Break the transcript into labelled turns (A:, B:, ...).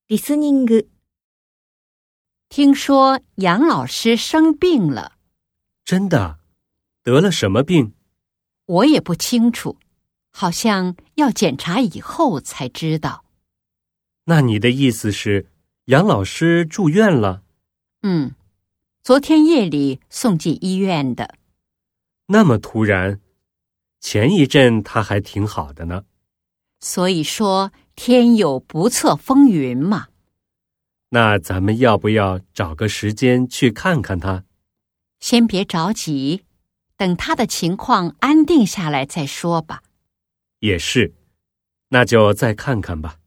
A: リスニング。
B: 听说杨老师生病了。
C: 真的？得了什么病？
B: 我也不清楚，好像要检查以后才知道。
C: 那你的意思是，杨老师住院了？
B: 昨天夜里送进医院的。
C: 那么突然？前一阵他还挺好的呢。
B: 所以说天有不测风云嘛。
C: 那咱们要不要找个时间去看看他？
B: 先别着急，等他的情况安定下来再说吧。
C: 也是，那就再看看吧。